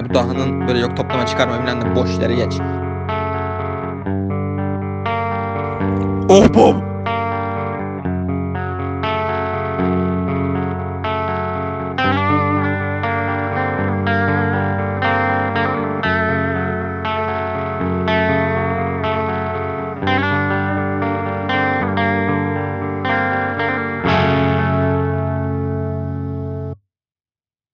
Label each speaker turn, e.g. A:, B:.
A: Bu dahının böyle yok toplama çıkarma bilmem ne boş yere geç. Oh bom.